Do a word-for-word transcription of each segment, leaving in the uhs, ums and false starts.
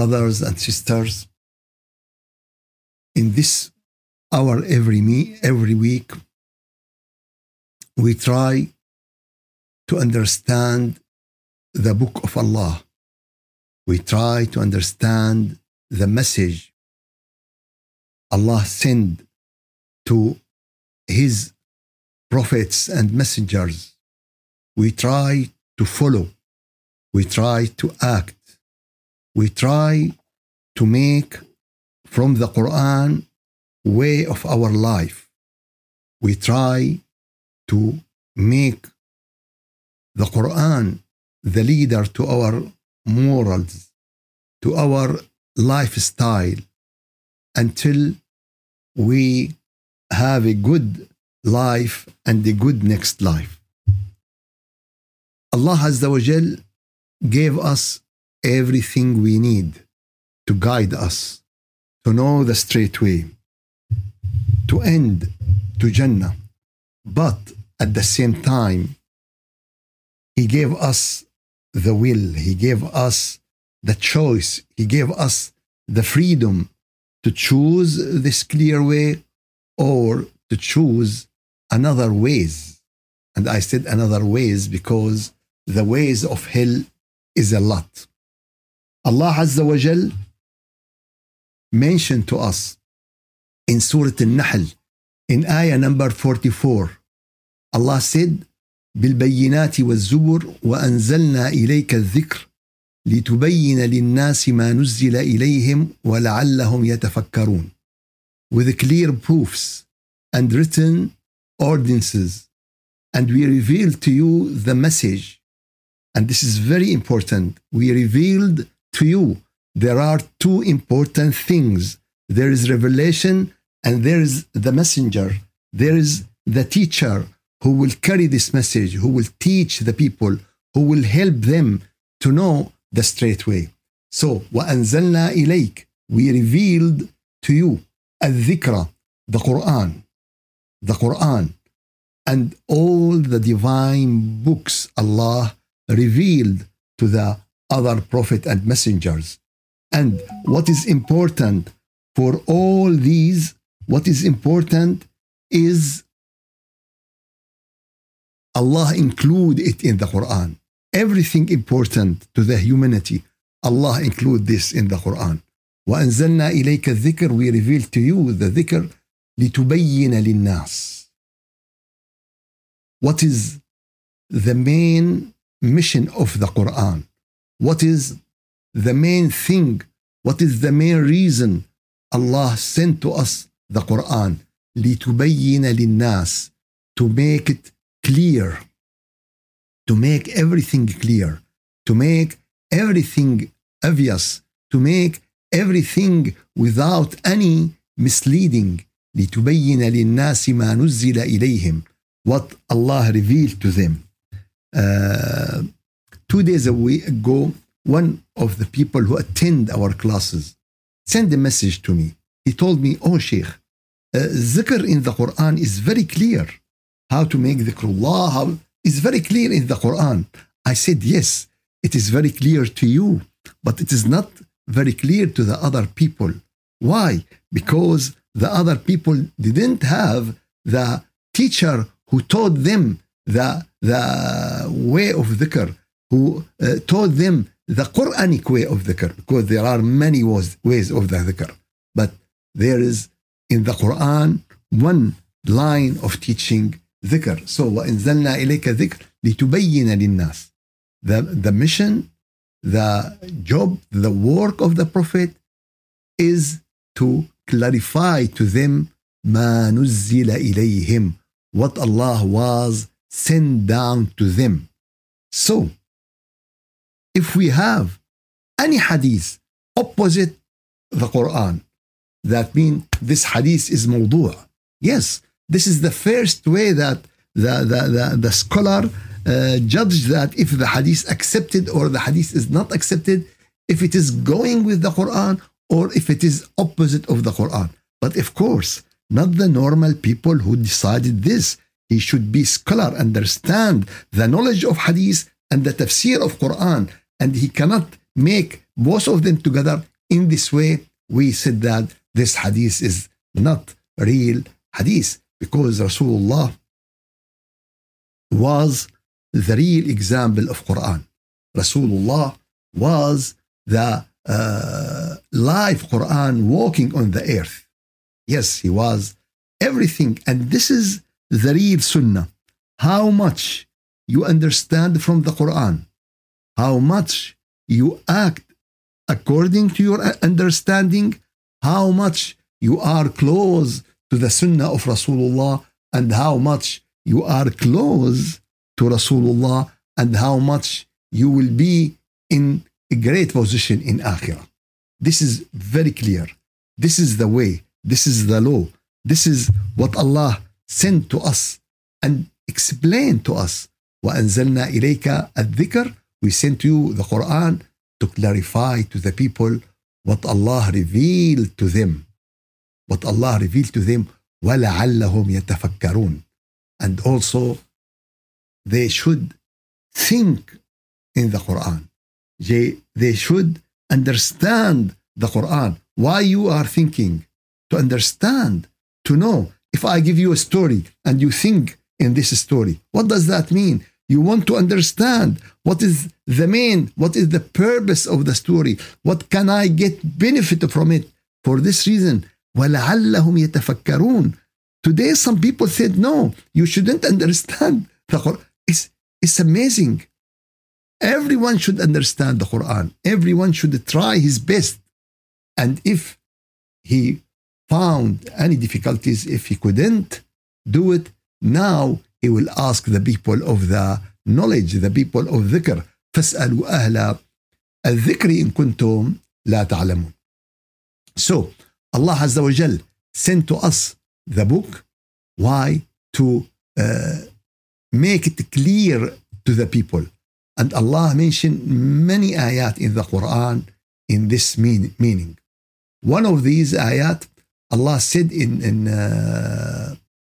brothers and sisters, in this hour every me every week, we try to understand the book of Allah. We try to understand the message Allah sent to His prophets and messengers. We try to follow. We try to act. We try to make from the Quran way of our life. We try to make the Quran the leader to our morals, to our lifestyle, until we have a good life and a good next life. Allah Azza wa Jal gave us everything we need to guide us, to know the straight way, to end to Jannah. But at the same time, He gave us the will, He gave us the choice, He gave us the freedom to choose this clear way or to choose another ways. And I said another ways because the ways of hell is a lot. Allah Azza wa Jal mentioned to us in Surah Al-Nahl in ayah number forty-four. Allah said, بالبينات والزبر وأنزلنا إليك الذكر لتبين للناس ما نزل إليهم ولعلهم يتفكرون. With clear proofs and written ordinances, and we revealed to you the message. And this is very important. We revealed to you. There are two important things. There is revelation and there is the messenger. There is the teacher who will carry this message, who will teach the people, who will help them to know the straight way. So, وَأَنزَلْنَا إِلَيْكَ, we revealed to you الذِّكْرَ, the Quran, the Quran, and all the divine books Allah revealed to the other prophet and messengers. And what is important for all these, what is important is Allah include it in the Quran. Everything important to the humanity, Allah include this in the Quran. وَأَنزَلْنَا إِلَيْكَ الذِّكْرَ, we reveal to you the dhikr لِتُبَيِّنَ لِلنَّاسِ. What is the main mission of the Quran? What is the main thing? What is the main reason Allah sent to us the Quran? لِتُبَيِّنَ لِلنَّاسِ, to make it clear, to make everything clear, to make everything obvious, to make everything without any misleading. لِتُبَيِّنَ لِلنَّاسِ مَا نُزِّلَ إِلَيْهِمْ, what Allah revealed to them. Uh, two days ago, one of the people who attend our classes sent a message to me. He told me, oh Sheikh, uh, zikr in the Quran is very clear. How to make dhikrullah how, is very clear in the Quran. I said, yes, it is very clear to you, but it is not very clear to the other people. Why? Because the other people didn't have the teacher who taught them the, the way of dhikr, who uh, taught them the Quranic way of dhikr, because there are many ways, ways of the dhikr. But there is in the Quran one line of teaching dhikr. So, وَإِنزَلْنَا إِلَيْكَ ذِكْرَ لِتُبَيِّنَ لِلنَّاسِ. The, the mission, the job, the work of the Prophet is to clarify to them مَا نُزِّلَ إِلَيْهِمْ, what Allah was sent down to them. So, if we have any hadith opposite the Quran, that means this hadith is mawdu'. Yes, this is the first way that the, the, the, the scholar uh, judged that if the hadith accepted or the hadith is not accepted, if it is going with the Quran or if it is opposite of the Quran. But of course, not the normal people who decided this. He should be scholar, understand the knowledge of hadith and the tafsir of Quran, and he cannot make both of them together in this way, we said that this hadith is not real hadith, because Rasulullah was the real example of Quran. Rasulullah was the uh, live Quran walking on the earth. Yes, he was everything. And this is the real Sunnah. How much you understand from the Quran, how much you act according to your understanding, how much you are close to the Sunnah of Rasulullah, and how much you are close to Rasulullah, and how much you will be in a great position in Akhirah. This is very clear. This is the way. This is the law. This is what Allah sent to us and explained to us. وَأَنزَلْنَا إِلَيْكَ الذِّكْرَ. We sent you the Quran to clarify to the people what Allah revealed to them. What Allah revealed to them. وَلَعَلَّهُمْ يَتَفَكَّرُونَ. And also, they should think in the Quran. They, they should understand the Quran. Why you are thinking? To understand, to know. If I give you a story and you think in this story, what does that mean? You want to understand what is the main, what is the purpose of the story? What can I get benefit from it? For this reason, وَلَعَلَّهُمْ يَتَفَكَّرُونَ. Today, some people said, no, you shouldn't understand the Quran. It's, it's amazing. Everyone should understand the Quran. Everyone should try his best. And if he found any difficulties, if he couldn't do it, now he will ask the people of the knowledge, the people of dhikr. فَاسْأَلُوا أَهْلَ الذِّكْرِ إِن كُنتُمْ لَا تَعْلَمُونَ. So, Allah Azza wa Jal sent to us the book. Why? To uh, make it clear to the people. And Allah mentioned many ayat in the Quran in this mean, meaning. One of these ayat, Allah said in in, uh,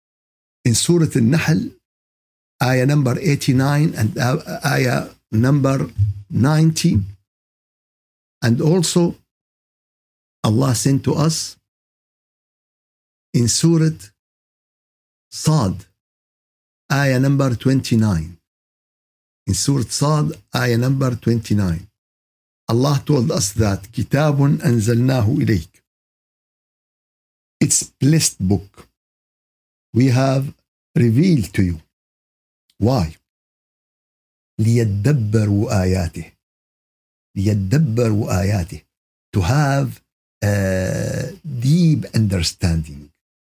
in Surah Al-Nahl, ayah number eighty-nine and uh, ayah number ninety. And also, Allah sent to us in Surah Sad, ayah number twenty-nine. In Surah Sad, ayah number twenty-nine. Allah told us that كِتَابٌ أَنزَلْنَاهُ إِلَيْكَ. It's blessed book. We have revealed to you. Why? لِيَدَّبَّرُوا آيَاتِهِ. لِيَدَّبَّرُوا آيَاتِهِ. To have a deep understanding.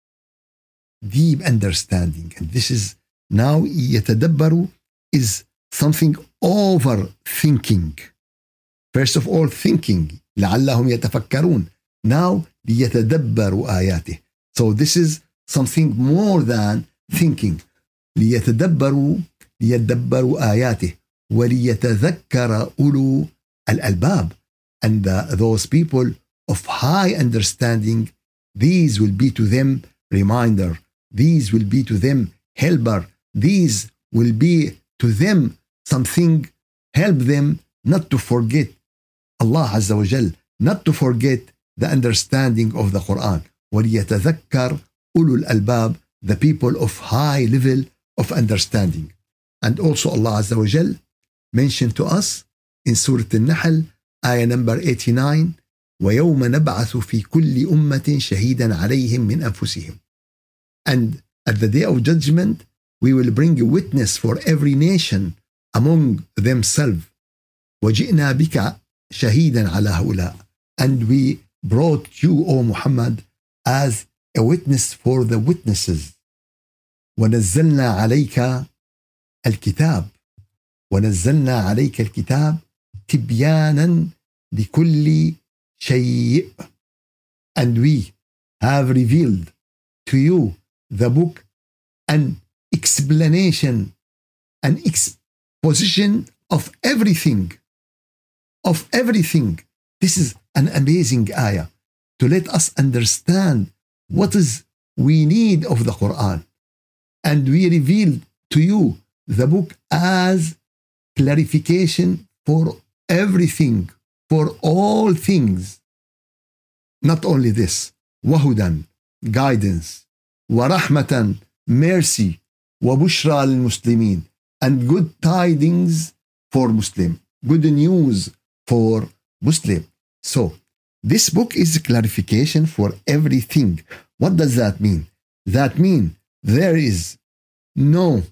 Deep understanding. And this is now يَتَدَبَّرُوا is something overthinking. First of all, thinking. لعلهم يتفكرون. Now, ليتدبروا آياته. So this is something more than thinking. ليتدبروا ليتدبروا آياته وليتذكر أولو الألباب. And uh, those people of high understanding, these will be to them reminder. These will be to them helper. These will be to them something, help them not to forget Allah Azza wa Jal, not to forget the understanding of the Quran. وَلِيَتَذَكَّرْ أُولُو الْأَلْبَابِ, the people of high level of understanding. And also Allah Azza wa Jal mentioned to us in Surah Al-Nahl, ayah number eighty-nine, وَيَوْمَ نَبْعَثُ فِي كُلِّ أُمَّةٍ شَهِيدًا عَلَيْهِمْ مِنْ أَنفُسِهِمْ. And at the day of judgment, we will bring a witness for every nation among themselves. وَجِئْنَا بِكَ شَهِيدًا عَلَى هؤلاء. And we brought you, O Muhammad, as a witness for the witnesses. وَنَزَّلْنَا عَلَيْكَ الْكِتَابِ. وَنَزَّلْنَا عَلَيْكَ الْكِتَابِ تِبْيَانًا لِكُلِّ شَيْءٍ. And we have revealed to you the book, an explanation, an exposition of everything, of everything. This is an amazing ayah to let us understand what is we need of the Quran. And we revealed to you the book as clarification for everything, for all things. Not only this, وهدى, guidance, ورحمة, mercy, وبشرى للمسلمين, and good tidings for Muslim, good news for Muslim. So this book is clarification for everything. What does that mean? That means there is no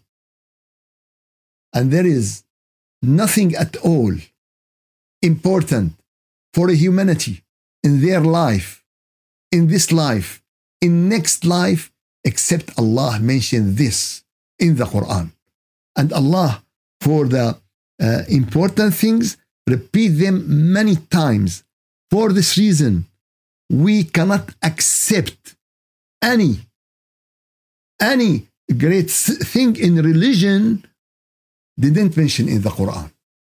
and there is nothing at all important for humanity in their life, in this life, in next life, except Allah mentioned this in the Quran. And Allah, for the uh, important things, repeat them many times. For this reason, we cannot accept any, any great thing in religion didn't mention in the Quran.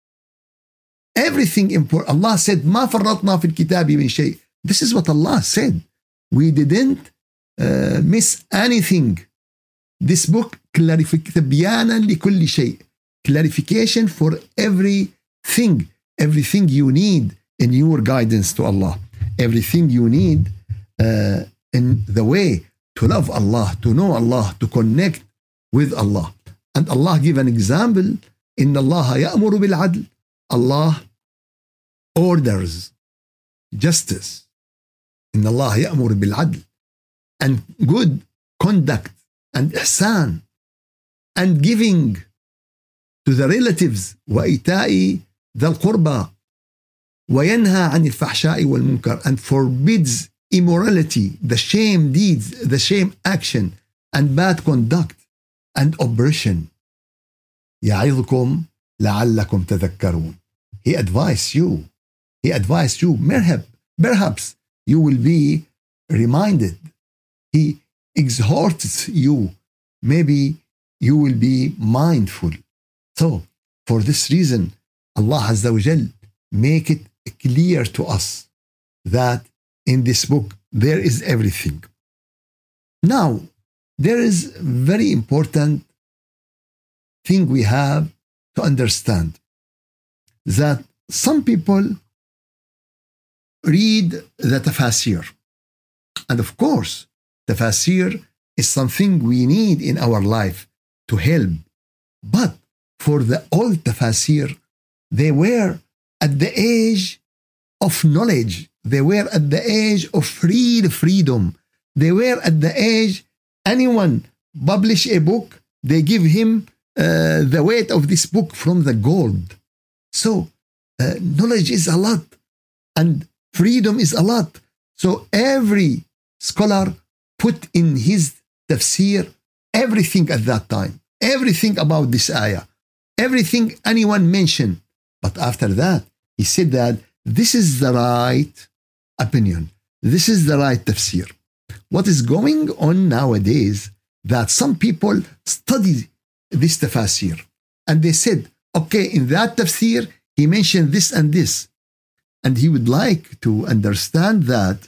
Everything important. Allah said, ما فرطنا في الكتاب من شيء. This is what Allah said. We didn't uh, miss anything. This book, تبيانا لكل شيء. Clarification for everything. Everything you need in your guidance to Allah. Everything you need uh, in the way to love Allah, to know Allah, to connect with Allah. And Allah give an example. إن الله يأمر بالعدل. Allah orders justice. إن الله يأمر بالعدل. And good conduct and ihsan. And giving to the relatives. وإيتاء ذا القربى. وينهى عن الفحشاء والمنكر. And forbids immorality, the shame deeds, the shame action, and bad conduct, and oppression. يعظكم لعلكم تذكرون. He advised you. He advised you. Perhaps you will be reminded. He exhorts you. Maybe you will be mindful. So, for this reason, Allah Azza wa Jal make it clear to us that in this book there is everything. Now, there is very important thing we have to understand, that some people read the tafasir. And of course, tafasir is something we need in our life to help. But for the old tafasir, they were at the age of knowledge. They were at the age of free freedom. They were at the age, anyone publish a book, they give him uh, the weight of this book from the gold. So uh, knowledge is a lot and freedom is a lot. So every scholar put in his tafsir everything at that time, everything about this ayah, everything anyone mentioned. But after that, he said that this is the right opinion. This is the right tafsir. What is going on nowadays, that some people study this tafsir and they said, okay, in that tafsir, he mentioned this and this. And he would like to understand that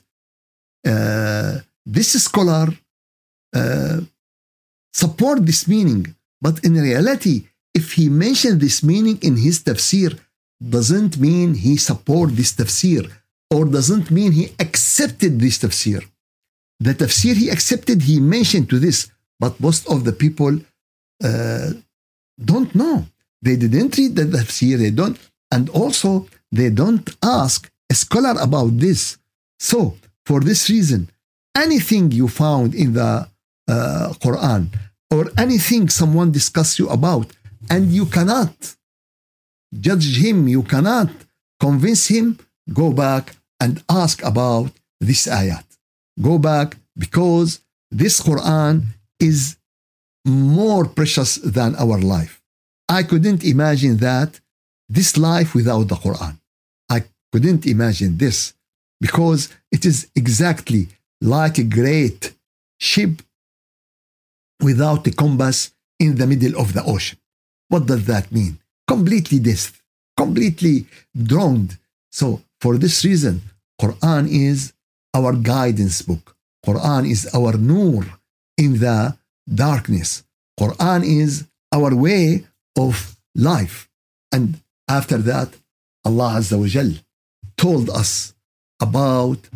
uh, this scholar uh, support this meaning. But in reality, if he mentioned this meaning in his tafsir, doesn't mean he support this tafsir, or doesn't mean he accepted this tafsir. The tafsir he accepted, he mentioned to this, but most of the people uh, don't know. They didn't read the tafsir, they don't, and also they don't ask a scholar about this. So, for this reason, anything you found in the uh, Quran, or anything someone discussed you about, and you cannot judge him, you cannot convince him, go back and ask about this ayat. Go back, because this Quran is more precious than our life. I couldn't imagine that, this life without the Quran. I couldn't imagine this, because it is exactly like a great ship without a compass in the middle of the ocean. What does that mean? Completely this, completely drowned. So for this reason, Quran is our guidance book. Quran is our nur in the darkness. Quran is our way of life. And after that, Allah Azza wa Jal told us about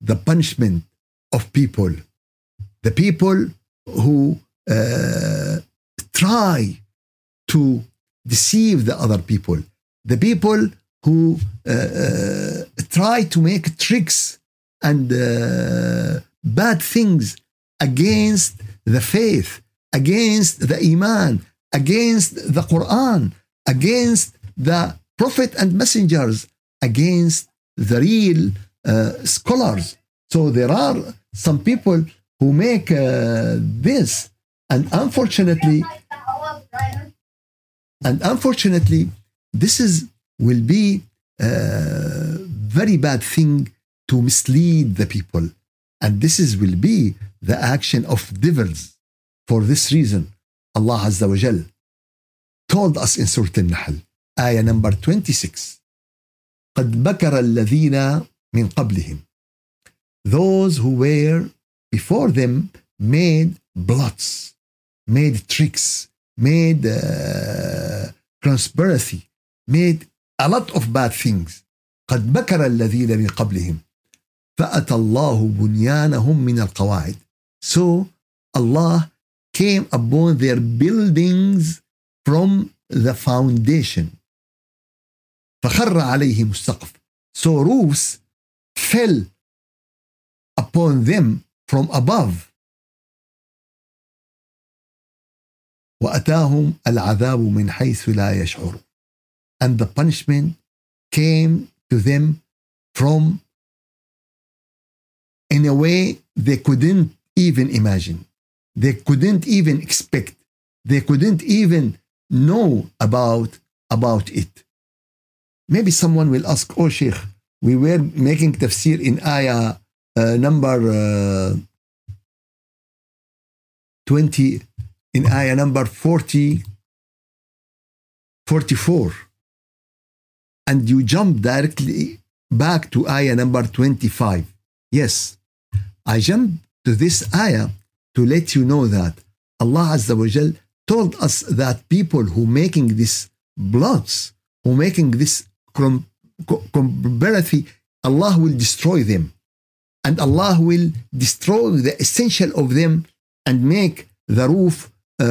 the punishment of people, the people who uh, try to deceive the other people, the people who uh, uh, try to make tricks and uh, bad things against the faith, against the Iman, against the Quran, against the Prophet and messengers, against the real uh, scholars. So there are some people who make uh, this, and unfortunately, and unfortunately, this is will be a very bad thing to mislead the people, and this is will be the action of devils. For this reason, Allah Azza wa Jal told us in Surah Al-Nahl, ayah number twenty-six, قد بكر الذين من قبلهم, those who were before them made plots, made tricks, made uh, conspiracy, made a lot of bad things. قد بكر الذين من قبلهم فأتى الله بنيانهم من القواعد. So Allah came upon their buildings from the foundation. فخر عليهم السقف. So roofs fell upon them from above. وأتاهم العذاب من حيث لا يشعرون. And the punishment came to them from in a way they couldn't even imagine. They couldn't even expect. They couldn't even know about, about it. Maybe someone will ask, oh Sheikh, we were making tafsir in ayah uh, number uh, twenty, in ayah number forty, forty-four. And you jump directly back to ayah number twenty-five. Yes, I jumped to this ayah to let you know that Allah Azza wa Jal told us that people who making this plots, who making this conspiracy, Allah will destroy them. And Allah will destroy the essential of them and make the roof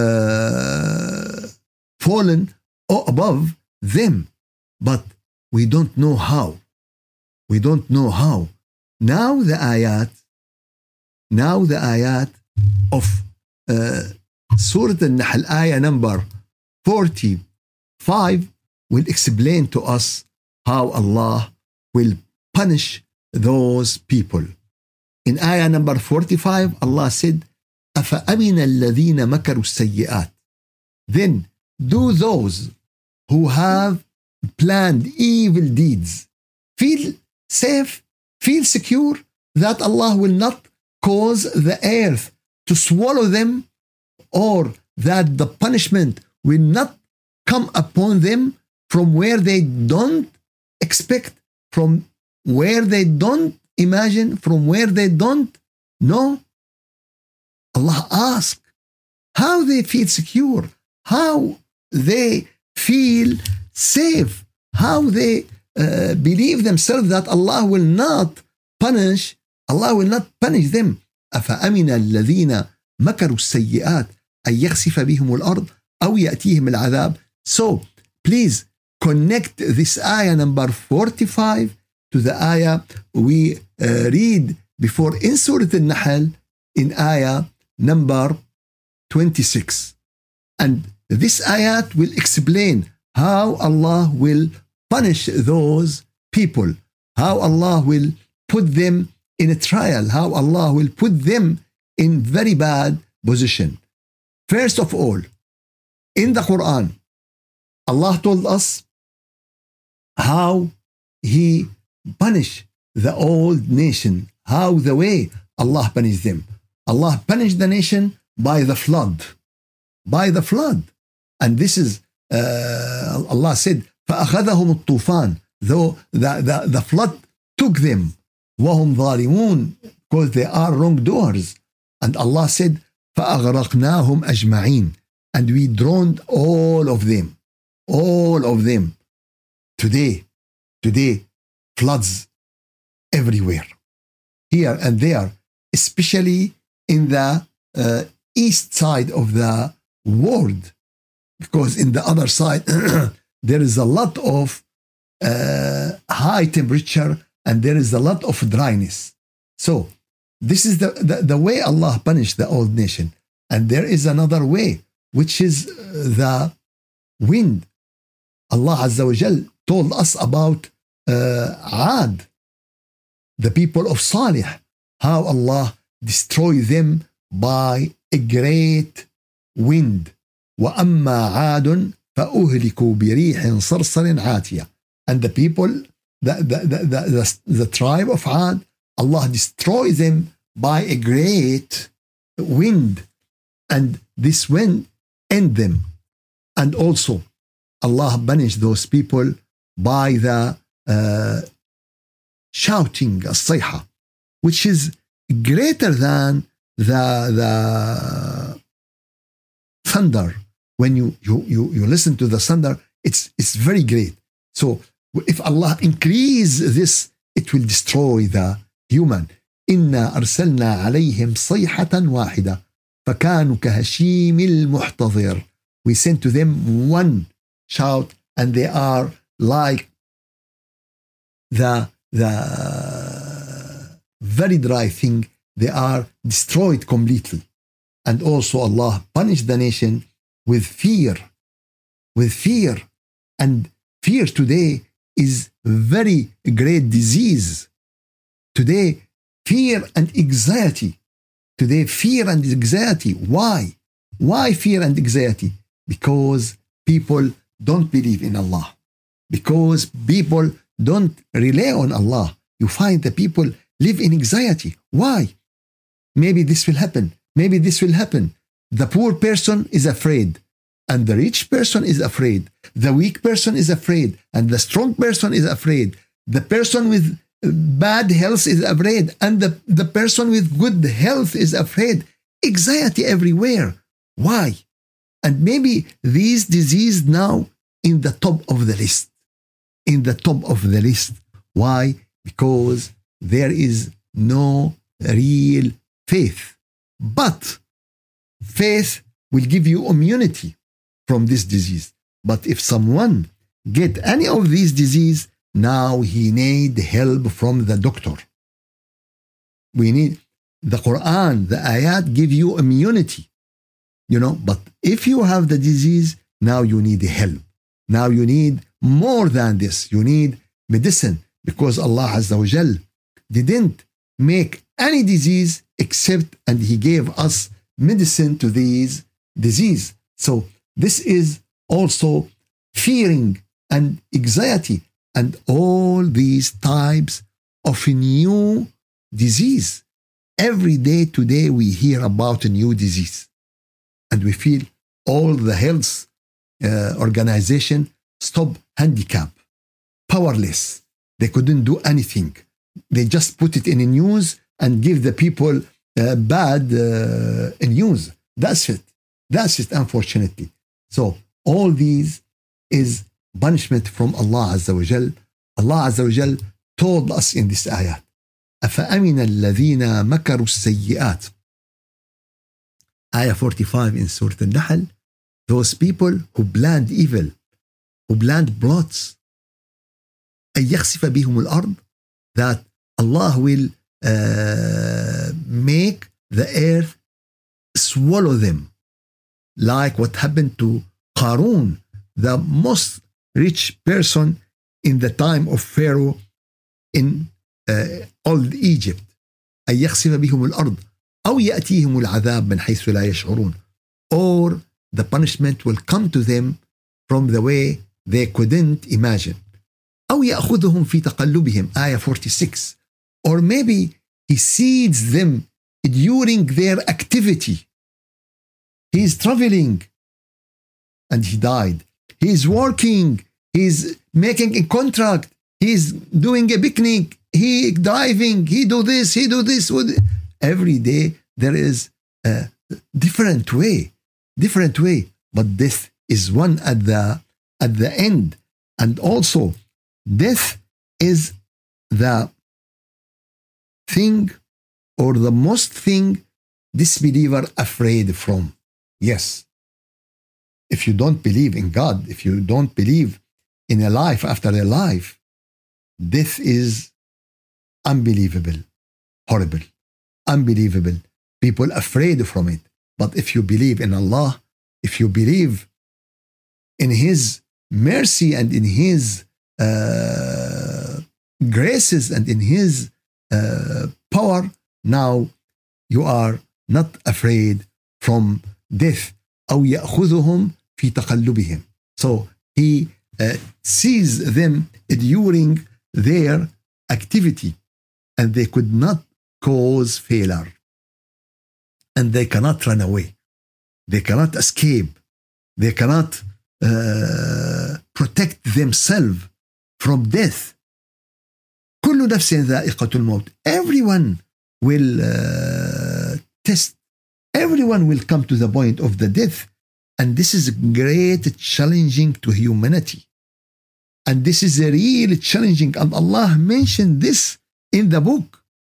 uh, fallen above them. But we don't know how. We don't know how. Now the ayat, now the ayat of uh, Surah Al-Nahl, ayah number forty-five, will explain to us how Allah will punish those people. In ayah number forty-five, Allah said, أَفَأَمِنَ الَّذِينَ مَكَرُوا السَّيِّئَاتِ. Then do those who have planned evil deeds feel safe, feel secure that Allah will not cause the earth to swallow them, or that the punishment will not come upon them from where they don't expect, from where they don't imagine, from where they don't know? Allah asks how they feel secure, how they feel safe, how they uh, believe themselves that Allah will not punish, Allah will not punish them. أفأمن الذين مكروا السيئات أن يخسف بهم الأرض أو يأتيهم العذاب. So please connect this ayah number forty-five to the ayah we uh, read before in Surah Al-Nahl in ayah number twenty-six. And this ayat will explain how Allah will punish those people, how Allah will put them in a trial, how Allah will put them in very bad position. First of all, in the Quran, Allah told us how He punished the old nation, how the way Allah punished them. Allah punished the nation by the flood, by the flood. And this is, uh, Allah said, فَأَخَذَهُمُ الطُّوفَانِ, though the, the, the flood took them, وَهُمْ ظَالِمُونَ, because they are wrongdoers. And Allah said, فَأَغْرَقْنَاهُمْ أَجْمَعِينَ, and we drowned all of them, all of them. Today, today, floods everywhere. here and there, especially in the uh, east side of the world, because in the other side there is a lot of uh, high temperature and there is a lot of dryness. So this is the, the, the way Allah punished the old nation. And there is another way, which is the wind. Allah Azza wa Jal told us about uh, Ad, the people of Salih, how Allah destroyed them by a great wind. وَأَمَّا عَادٌ فَأُهْلِكُوا بِرِيحٍ صَرْصَرٍ عَاتِيَةٍ. And the people, the, the, the, the, the, the tribe of Ad, Allah destroyed them by a great wind. And this wind end them. And also, Allah punished those people by the uh, shouting, الصيحة, which is greater than the, the thunder. When you, you, you, you listen to the thunder, it's, it's very great. So if Allah increase this, it will destroy the human. إِنَّا أَرْسَلْنَا عَلَيْهِمْ صَيْحَةً وَاحِدَةً فَكَانُوا كَهَشِيمِ الْمُحْتَظِرِ. We sent to them one shout, and they are like the, the very dry thing. They are destroyed completely. And also Allah punished the nation with fear, with fear. And fear today is very great disease. Today, fear and anxiety. Today, fear and anxiety. Why? Why fear and anxiety? Because people don't believe in Allah. Because people don't rely on Allah. You find the people live in anxiety. Why? Maybe this will happen. Maybe this will happen. The poor person is afraid, and the rich person is afraid. The weak person is afraid, and the strong person is afraid. The person with bad health is afraid, and the, the person with good health is afraid. Anxiety everywhere. Why? And maybe these diseases now in the top of the list. In the top of the list. Why? Because there is no real faith. But faith will give you immunity from this disease. But if someone get any of these disease, now he need help from the doctor. We need the Quran, the ayat give you immunity. You know, but if you have the disease, now you need help. Now you need more than this. You need medicine, because Allah Azza wa Jal didn't make any disease except, and He gave us medicine to these disease. So this is also fearing and anxiety and all these types of new disease. Every day today we hear about a new disease, and we feel all the health uh, organization stop handicap, powerless. They couldn't do anything. They just put it in the news and give the people uh, bad uh, news. That's it. That's it, unfortunately. So all these is punishment from Allah Azza wa Jal. Allah Azza wa Jal told us in this ayah, أَفَأَمِنَ الَّذِينَ مَكَرُوا السَّيِّئَاتِ. Ayah forty-five in Surah Al-Nahl. Those people who planned evil, who planned plots, أَن يَخْسِفَ بِهُمُ الْأَرْضِ, that Allah will uh, make the earth swallow them, like what happened to Qarun, the most rich person in the time of Pharaoh in uh, old Egypt. أن يخسف بهم الأرض أو يأتيهم العذاب من حيث لا يشعرون, or the punishment will come to them from the way they couldn't imagine. أو يأخذهم في تقلبهم, ayah forty-six, or maybe He seeds them during their activity. He is traveling and he died. He is working. He is making a contract. He is doing a picnic. He driving. He do this. He do this. Every day there is a different way, different way. But death is one at the at the end, and also death is the thing or the most thing disbeliever afraid from. Yes. If you don't believe in God, if you don't believe in a life after a life, death is unbelievable, horrible, unbelievable. People afraid from it. But if you believe in Allah, if you believe in His mercy and in His uh, graces and in His uh, power, now you are not afraid from death. أو يأخذهم في تقلبهم. So He uh, sees them during their activity, and they could not cause failure, and they cannot run away, they cannot escape, they cannot uh, protect themselves from death. كل نفس ذائقة الموت. Everyone will uh, test, everyone will come to the point of the death, and this is great challenging to humanity, and this is a real challenging, and Allah mentioned this in the book.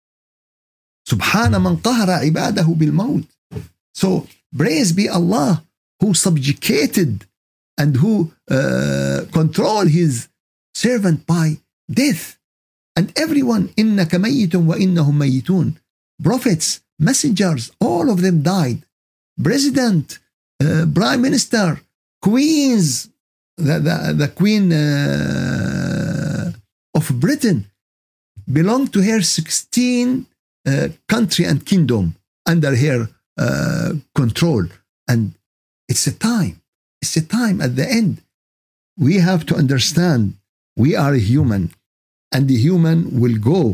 سبحان من قهر عباده بالموت. So praise be Allah who subjugated and who uh, control His servant by death. And everyone, إنك ميت وإنهم ميتون. Prophets, messengers, all of them died. President, uh, prime minister, queens, the, the, the queen uh, of Britain belonged to her sixteen uh, country and kingdom under her uh, control. And it's a time, it's a time at the end. We have to understand we are human, and the human will go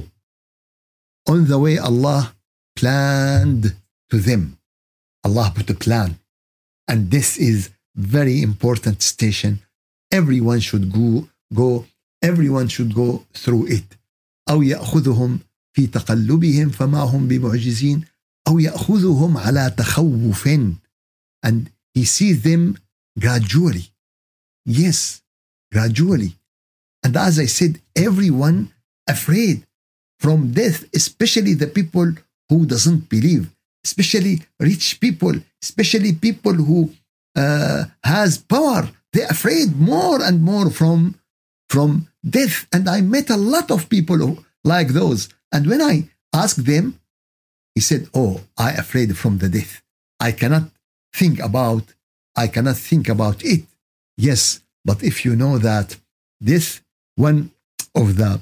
on the way Allah planned to them. Allah put a plan, and this is very important station. Everyone should go, go everyone should go through it. أو يأخذهم في تقلبهم فما هم بمعجزين أو يأخذهم على تخوف, and He sees them gradually. Yes, gradually. And as I said, everyone afraid from death, especially the people who doesn't believe, especially rich people, especially people who uh, has power. They're afraid more and more from, from death. And I met a lot of people who, like those. And when I asked them, he said, oh, I afraid from the death. I cannot think about, I cannot think about it. Yes, but if you know that this, one of the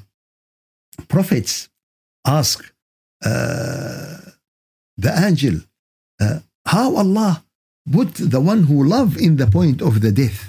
prophets asked uh, the angel, uh, how Allah put the one who love in the point of the death.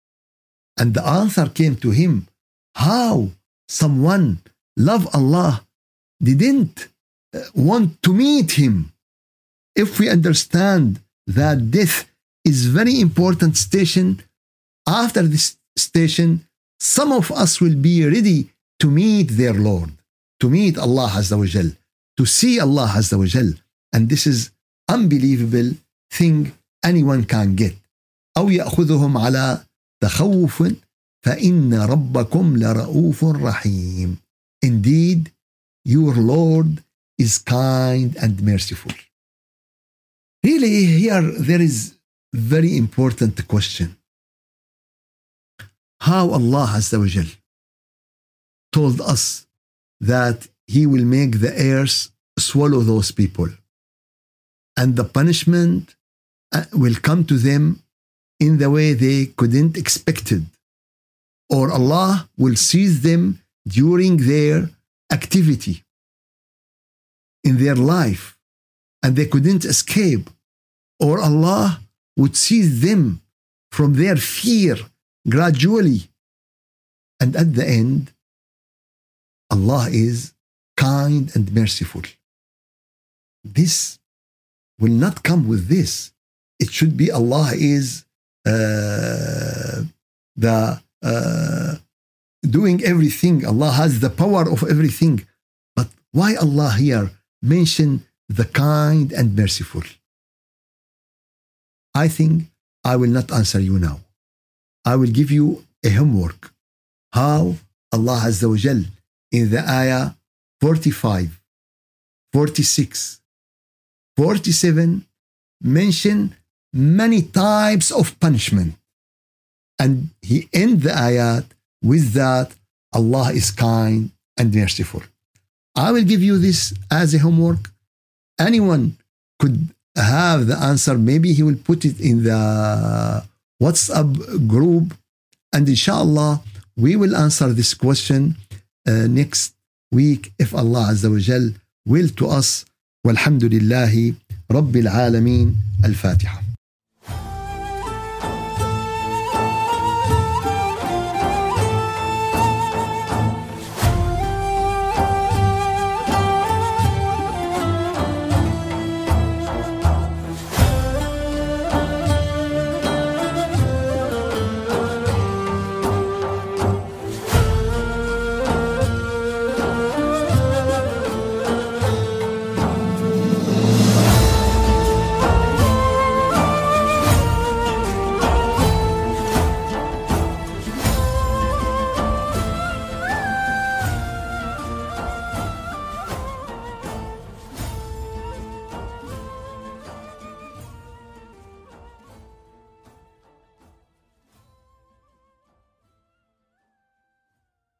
And the answer came to him, how someone love Allah didn't uh, want to meet Him. If we understand that death is very important station, after this station, some of us will be ready to meet their Lord, to meet Allah Azza wa Jal, to see Allah Azza wa Jal. And this is unbelievable thing anyone can get. أو يأخذهم على تخوف فإن ربكم لرؤوف رحيم. Indeed, your Lord is kind and merciful. Really, here there is very important question. How Allah Azza wa Jal told us that He will make the earth swallow those people, and the punishment will come to them in the way they couldn't expect it, or Allah will seize them during their activity in their life and they couldn't escape, or Allah would seize them from their fear gradually, and at the end Allah is kind and merciful. This will not come with this. It should be Allah is uh, the uh, doing everything. Allah has the power of everything. But why Allah here mention the kind and merciful? I think I will not answer you now. I will give you a homework. How Allah Azza wa Jal in the ayah forty-five, forty-six, forty-seven mention many types of punishment. And he ends the ayat with that Allah is kind and merciful. I will give you this as a homework. Anyone could have the answer. Maybe he will put it in the WhatsApp group. And inshallah, we will answer this question uh, next week if Allah Azza wa Jal will to us. Walhamdulillahi Rabbil Alameen. Al-Fatiha.